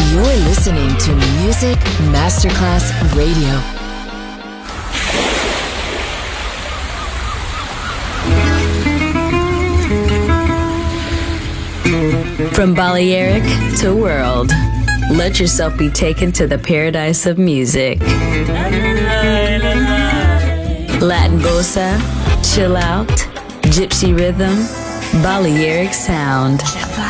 You're listening to Music Masterclass Radio. From Balearic to world, let yourself be taken to the paradise of music. Latin bossa, chill out, gypsy rhythm, Balearic sound,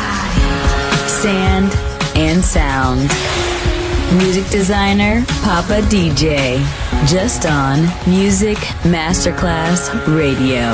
sand and sound. Music designer, Papa DJ, just on Music Masterclass Radio.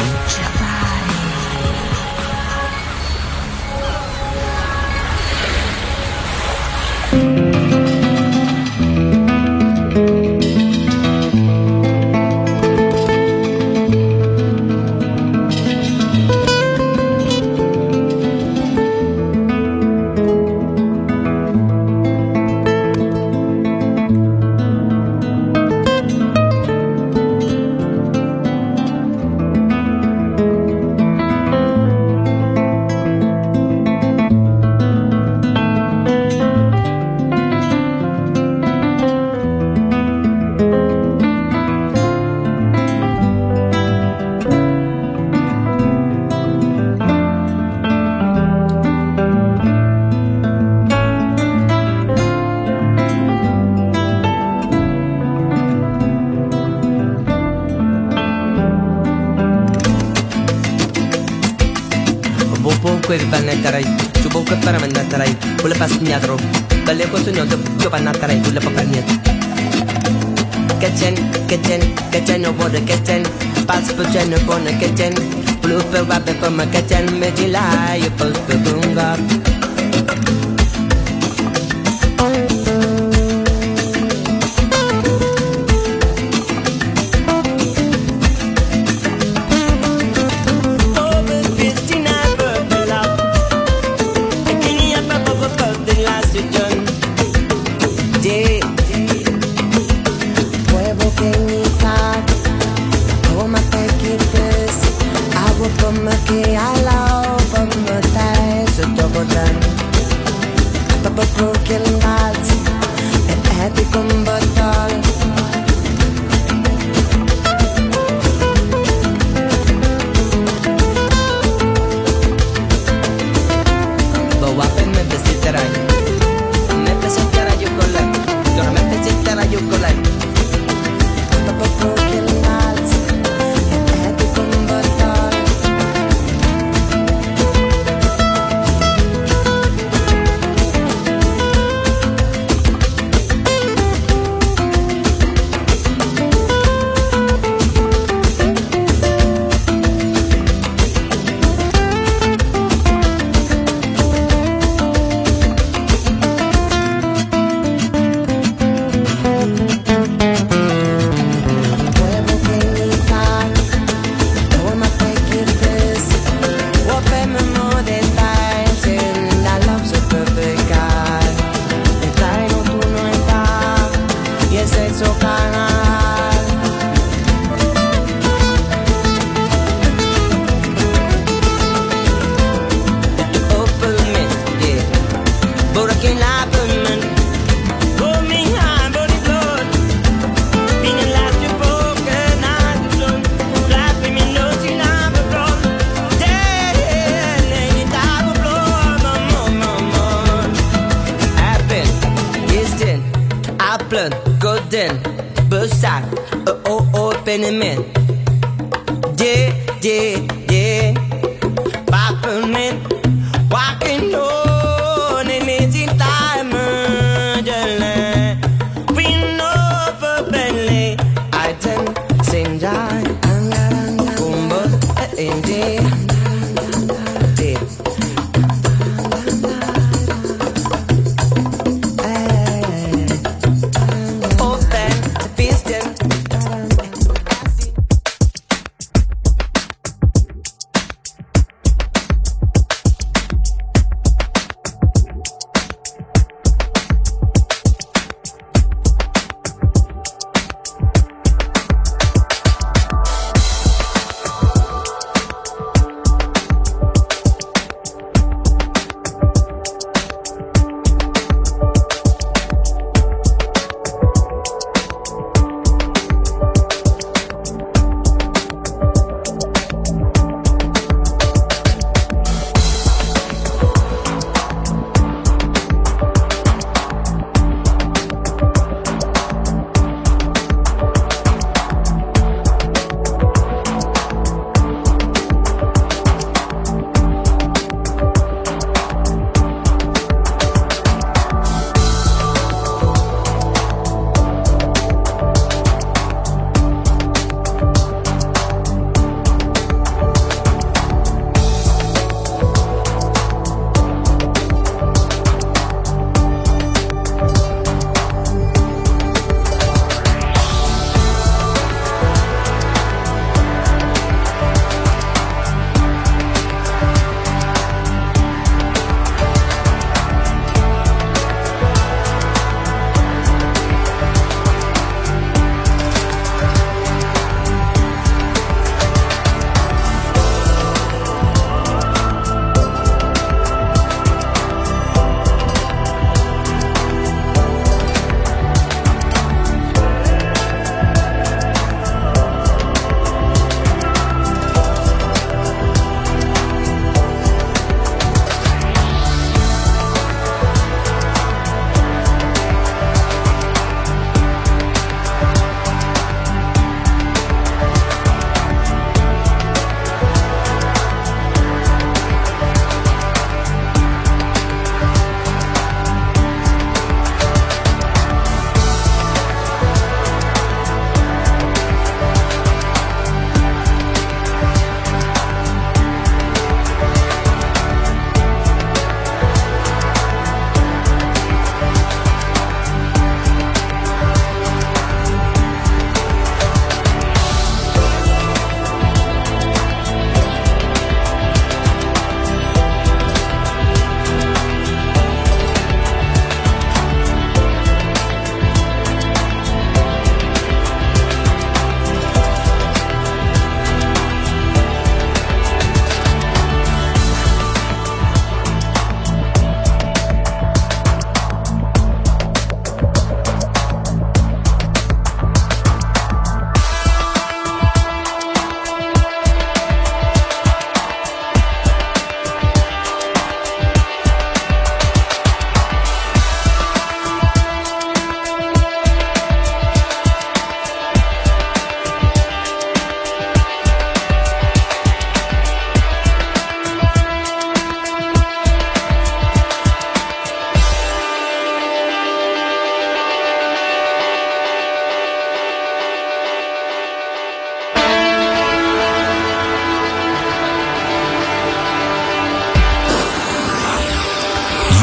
Nyadro, bale ko sunyo de joba na taray dula papanya. Kitchen, no border kitchen, pass for general border kitchen, blue for rabbit for my kitchen, medila, you post the bunga.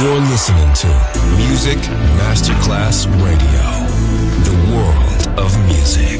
You're listening to Music Masterclass Radio, the world of music.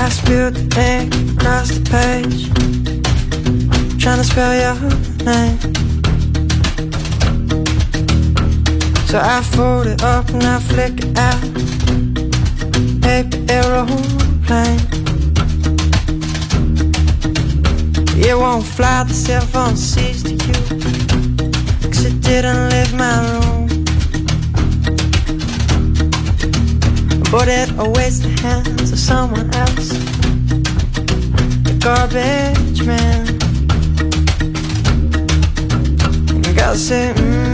I spilled the ink across the page, trying to spell your name. So I fold it up and I flick it out. Paper aeroplane. It won't fly, the cell phone sees to you, 'cause it didn't leave my room. But it awaits the hands of someone else, the garbage man. And gotta say,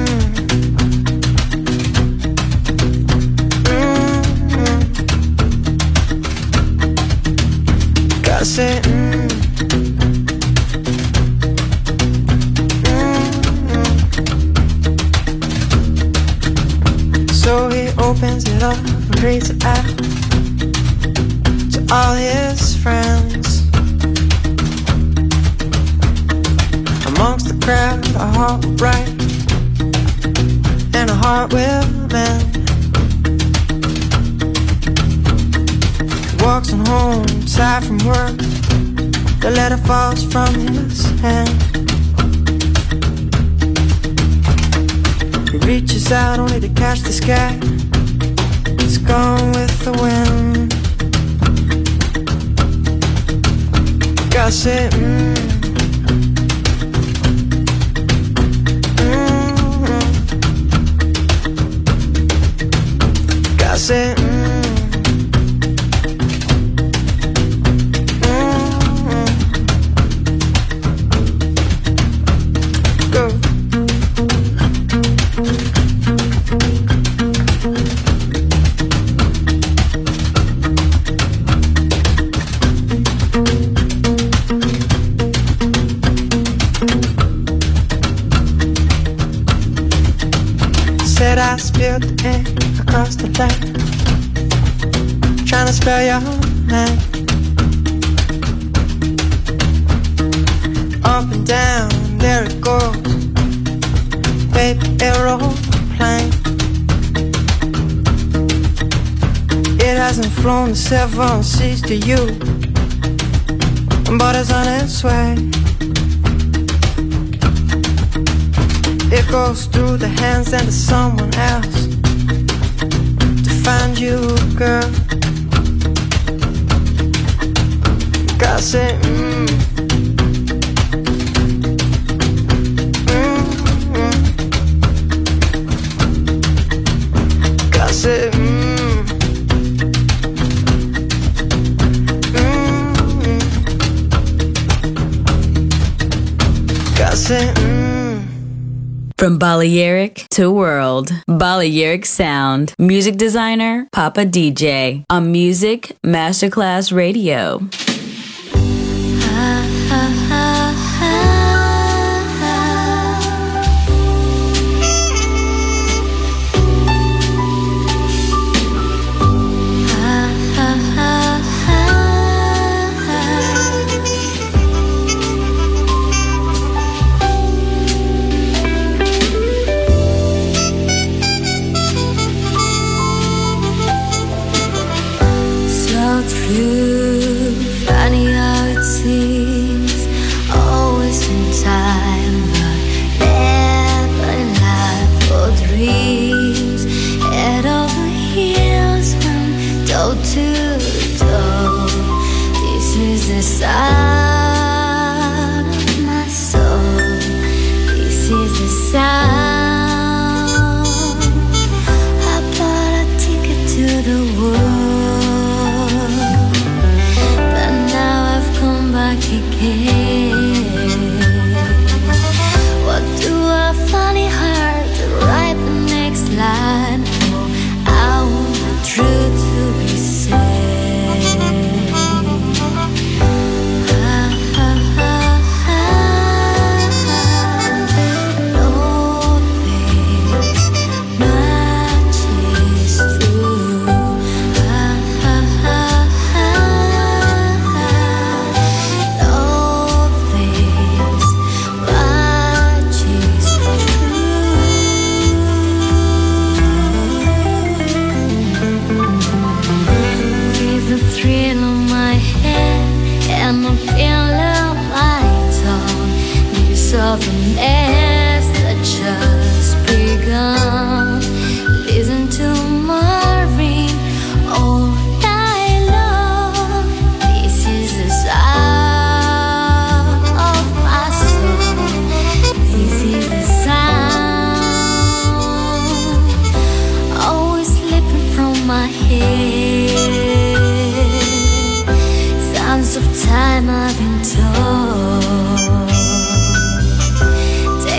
gotta say, So he opens it up and reads it out to all his friends. Amongst the crowd, a heart will break and a heart will mend. He walks on home, tired from work. The letter falls from his hand. He reaches out only to catch the sky. It's gone with the wind. Gotta say, gotta say, go. Said I spilled the ink across the land, trying to spell your name. Up and down, there it goes, baby aeroplane. It hasn't flown the 7 seas to you, but it's on its way. It goes through the hands and to someone else to find you, girl. Gotta say, gotta say, gotta say, From Balearic to World, Balearic Sound. Music designer, Papa DJ. On Music Masterclass Radio. Funny how it seems, always in time, but never in life or dreams. Head over heels from toe to toe. This is the sound of my soul. This is the sound. I bought a ticket to the world. of a mess that just begun. Listen to Marvin all night long. This is the sound of my soul. This is the sound always slipping from my head. Sounds of time I've been told.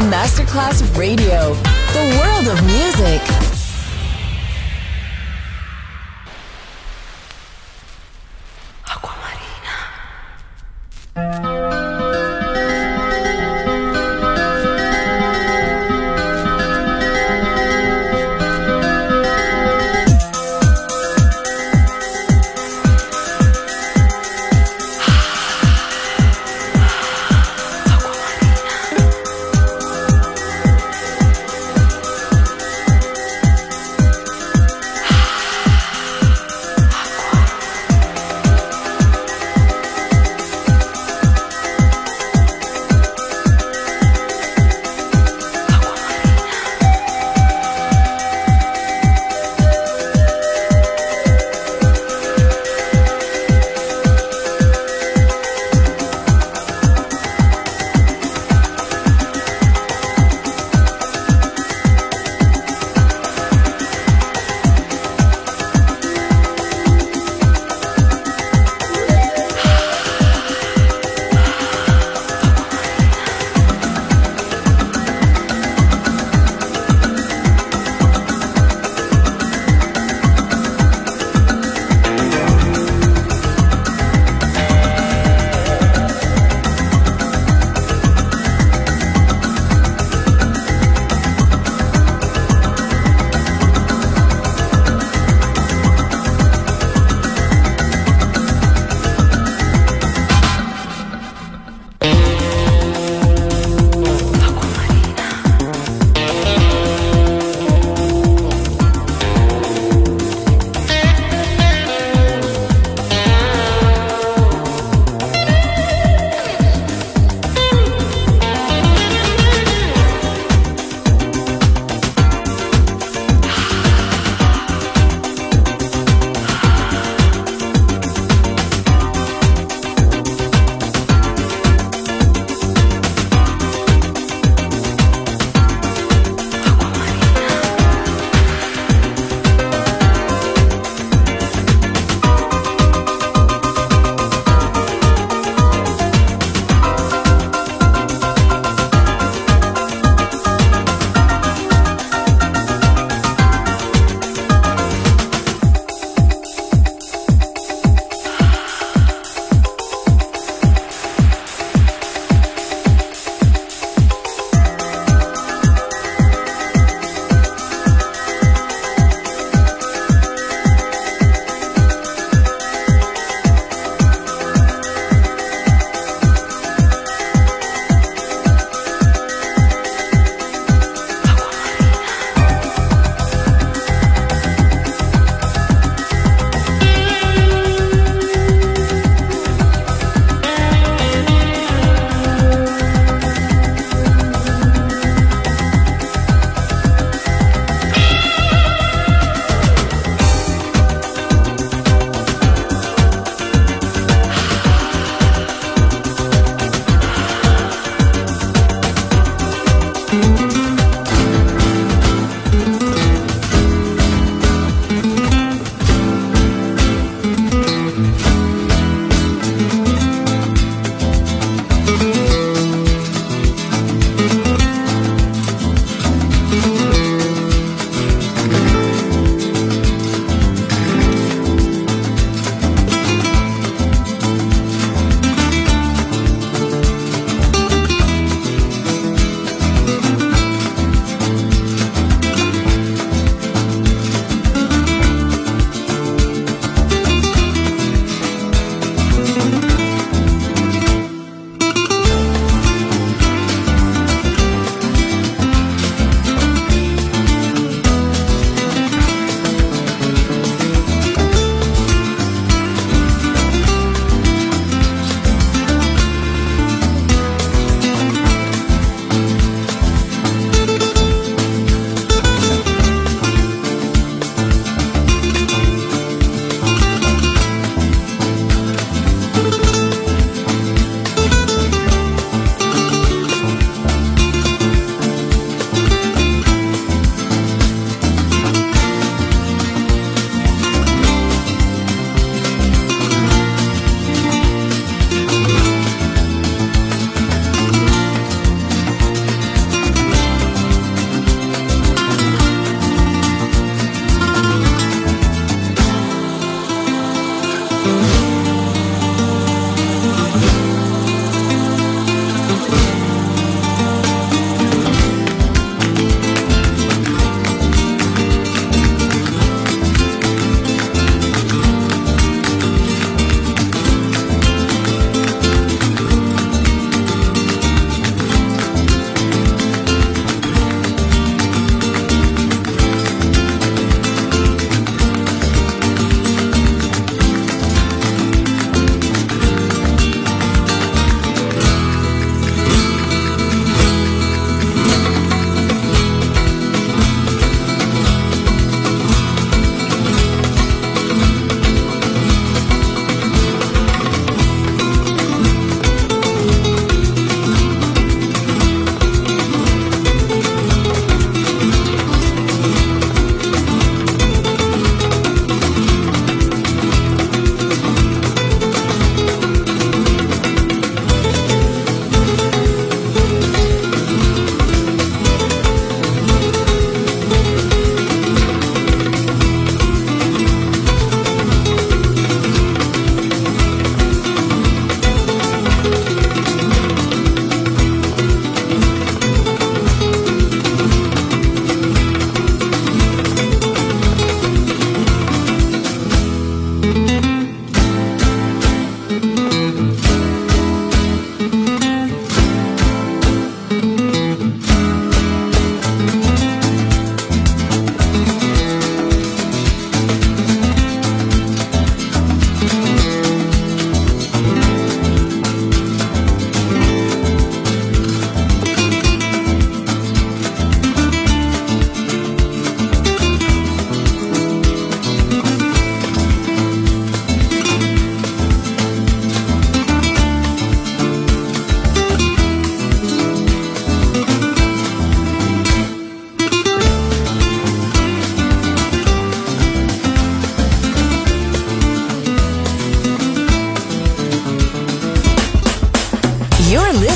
Masterclass Radio, the world of music.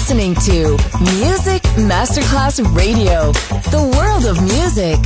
listening to Music Masterclass Radio, the world of music.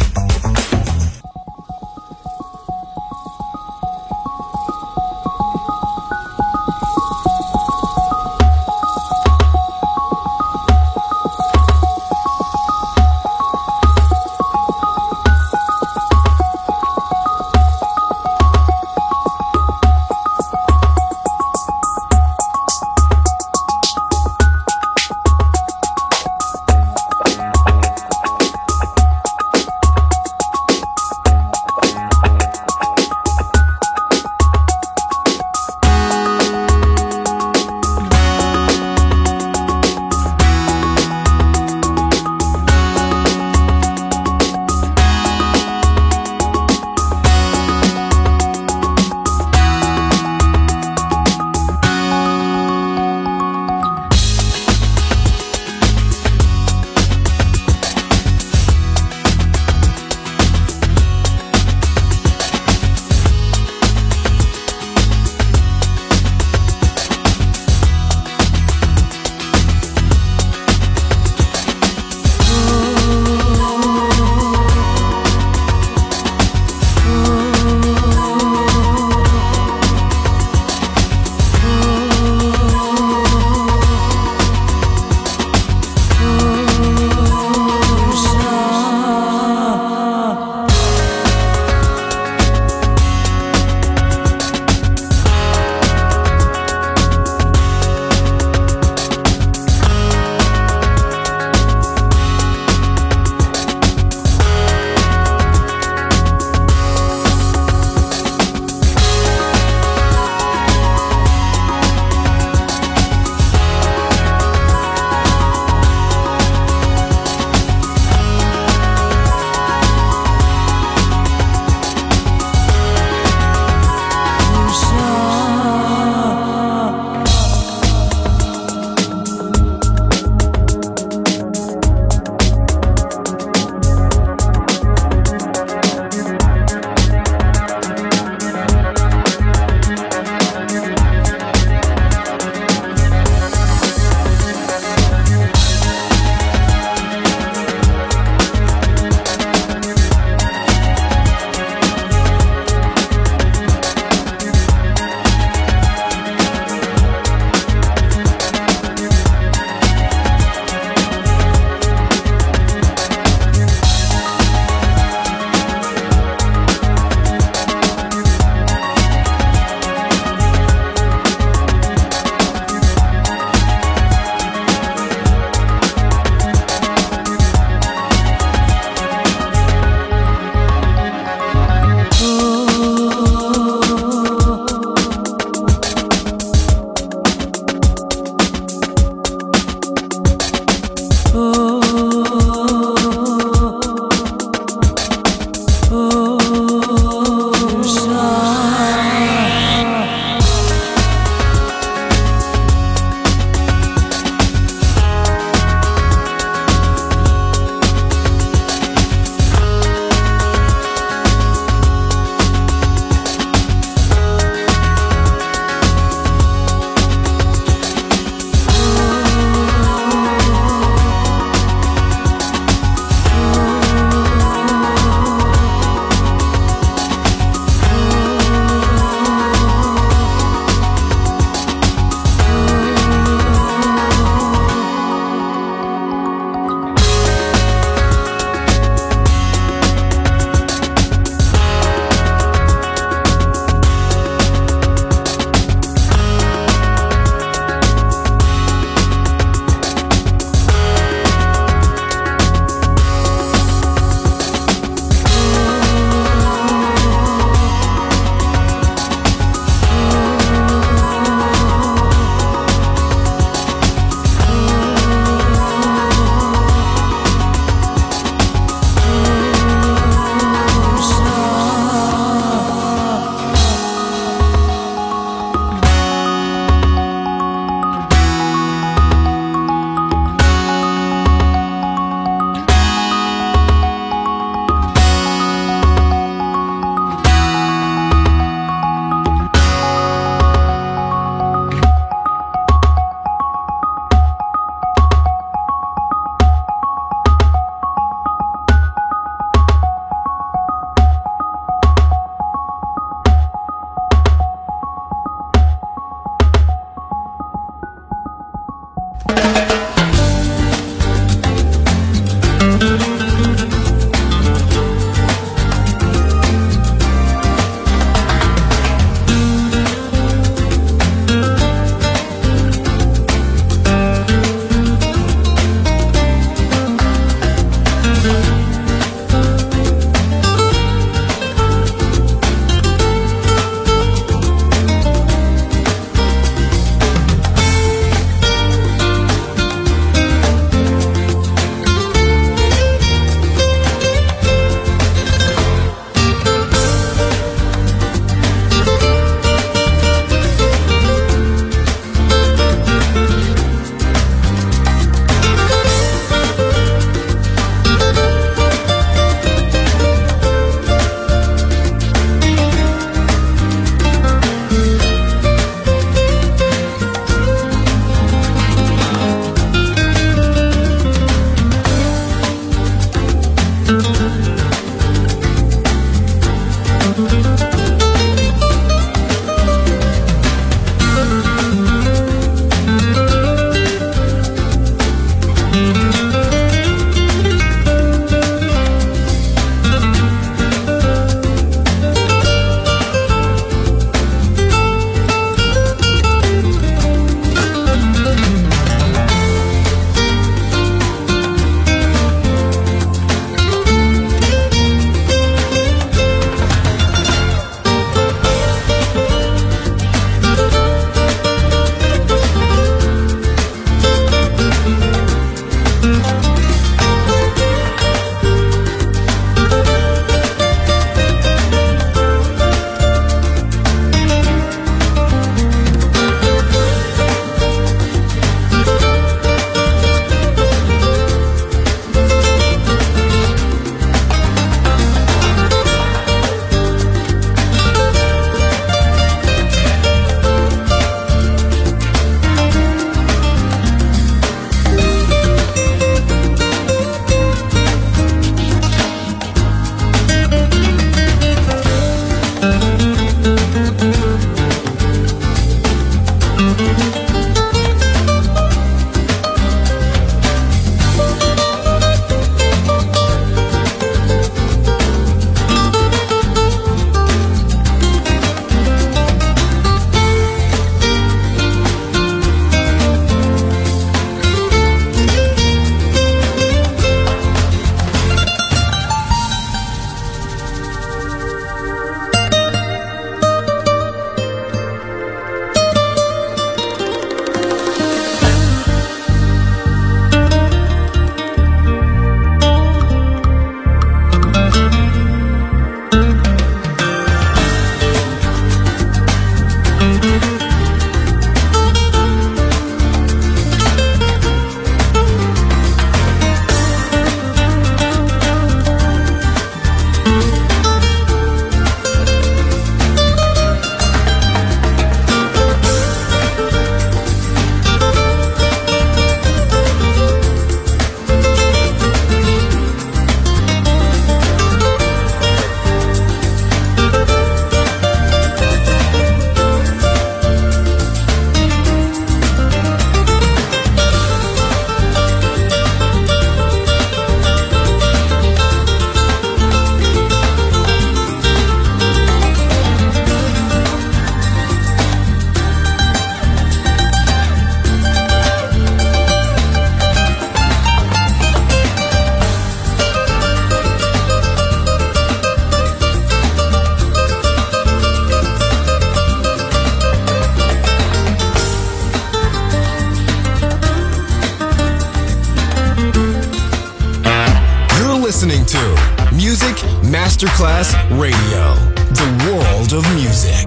Masterclass Radio, the world of music.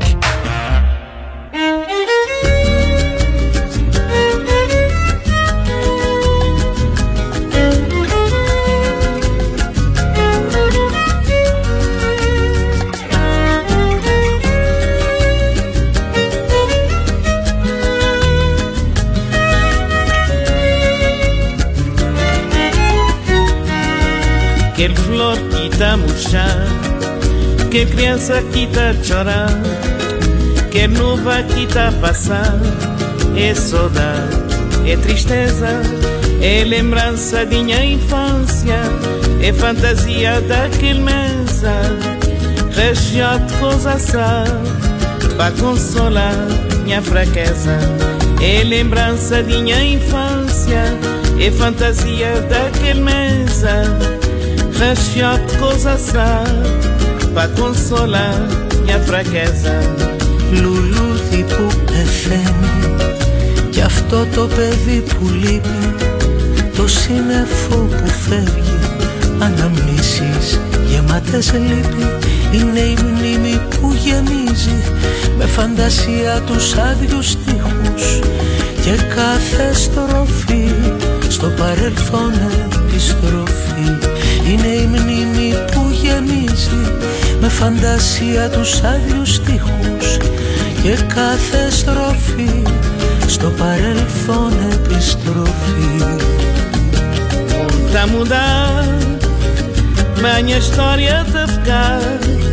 Quer flor que tá a murchar, quer criança que tá a chorar, quer nuvem que tá a passar. É saudade, é tristeza, é lembrança de minha infância, é fantasia daquele mesa, recheado de coisa sã, pra consolar minha fraqueza. É lembrança de minha infância, é fantasia daquele mesa, recheado de coisa sã, pra consolar minha fraqueza. Λουλούδι που πεθαίνει κι αυτό το παιδί που λείπει, το σύννεφο που φεύγει, αναμνήσεις γεμάτες λύπη. Είναι η μνήμη που γεμίζει με φαντασία τους άδειους στίχους και κάθε στροφή στο παρελθόν επιστροφή. Είναι η μνήμη που γεμίζει με φαντασία τους άδειους στίχους και κάθε στροφή στο παρελθόν επιστροφή. Tá mudar, mas minha história tá ficar.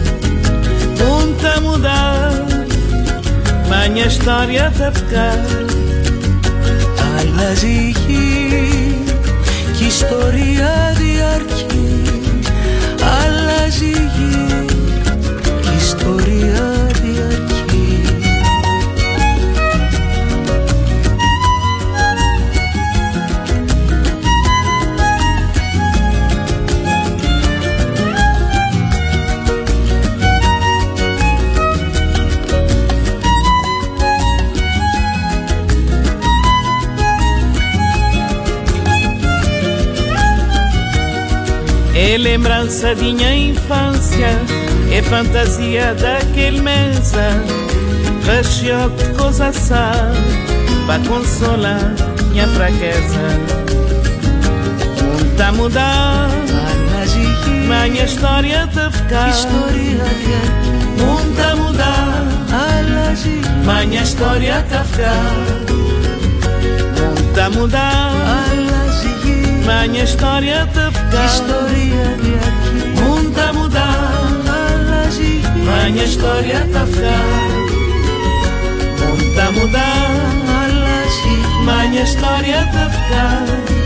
Tá mudar, mas minha história tá ficar. Αλλάζει η γη κι η ιστορία διαρκεί. Αλλάζει η γη κι η ιστορία διαρκεί. É lembrança de minha infância, é fantasia daquele mesa, recheado de coisa sã, pra consolar minha fraqueza. Tá a mudar, mas minha história tá a ficar. Tá a mudar, mas minha história tá a ficar. Tá a mudar, mas minha história tá a ficar. Tá a mudar, mas minha história tá a ficar. Tá a mudar, mas minha história tá a ficar.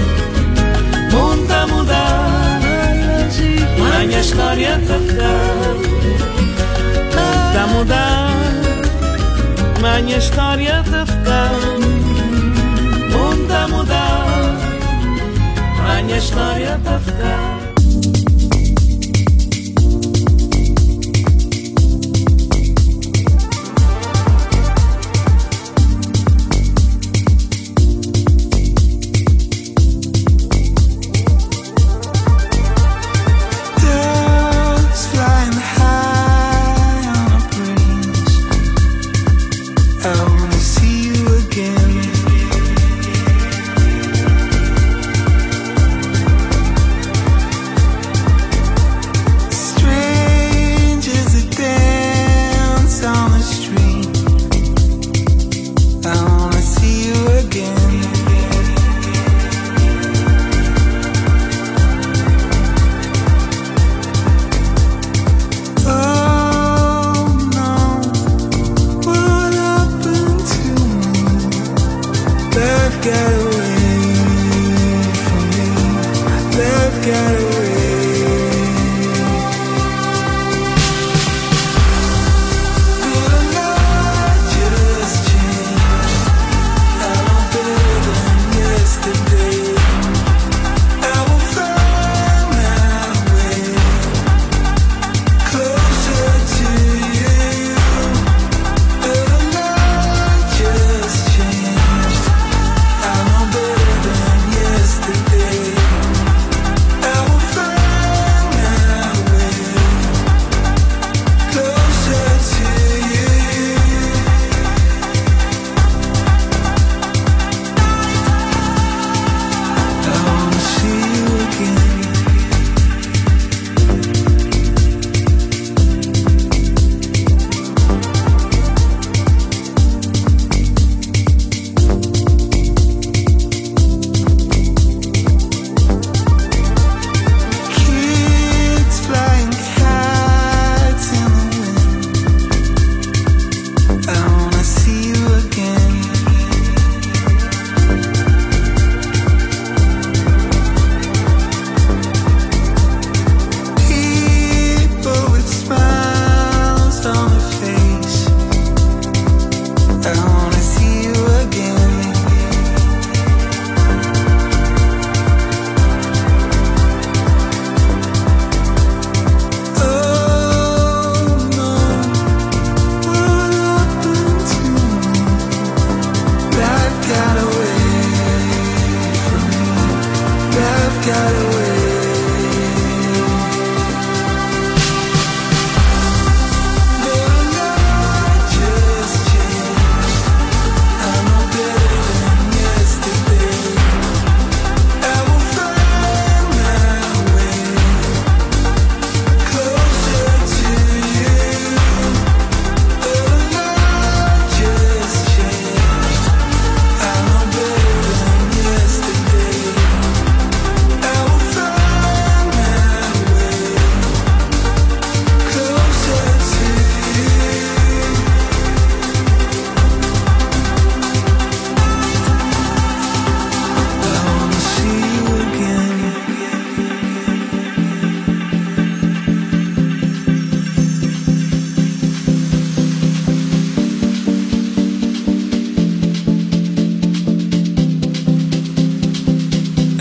Tá a mudar, mas minha história tá a ficar. Tá a mudar, mas minha história tá a ficar. Tá a mudar, mas minha história tá a ficar.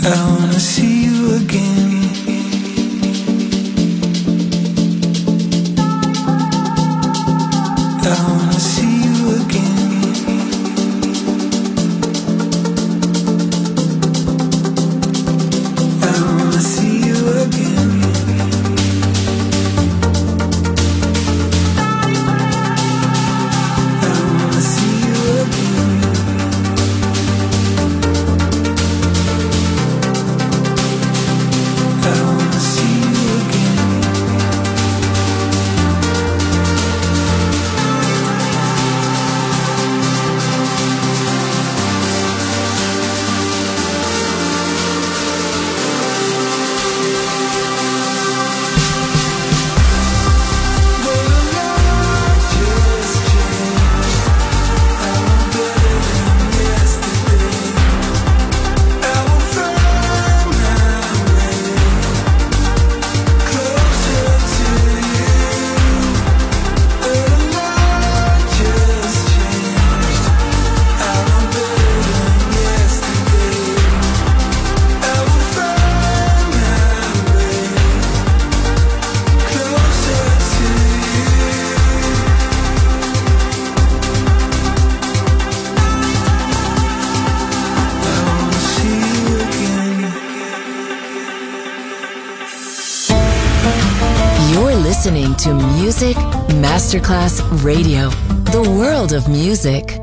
Listening to Music Masterclass Radio, the world of music.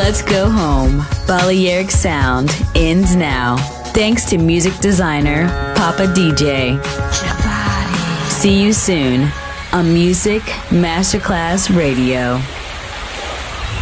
Let's go home. Balearic Sound ends now. Thanks to music designer Papa DJ. See you soon on Music Masterclass Radio.